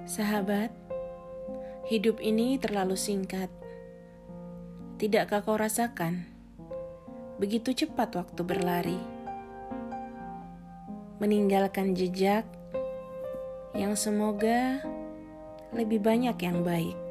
Sahabat, hidup ini terlalu singkat. Tidakkah kau rasakan? Begitu cepat waktu berlari, meninggalkan jejak yang semoga lebih banyak yang baik.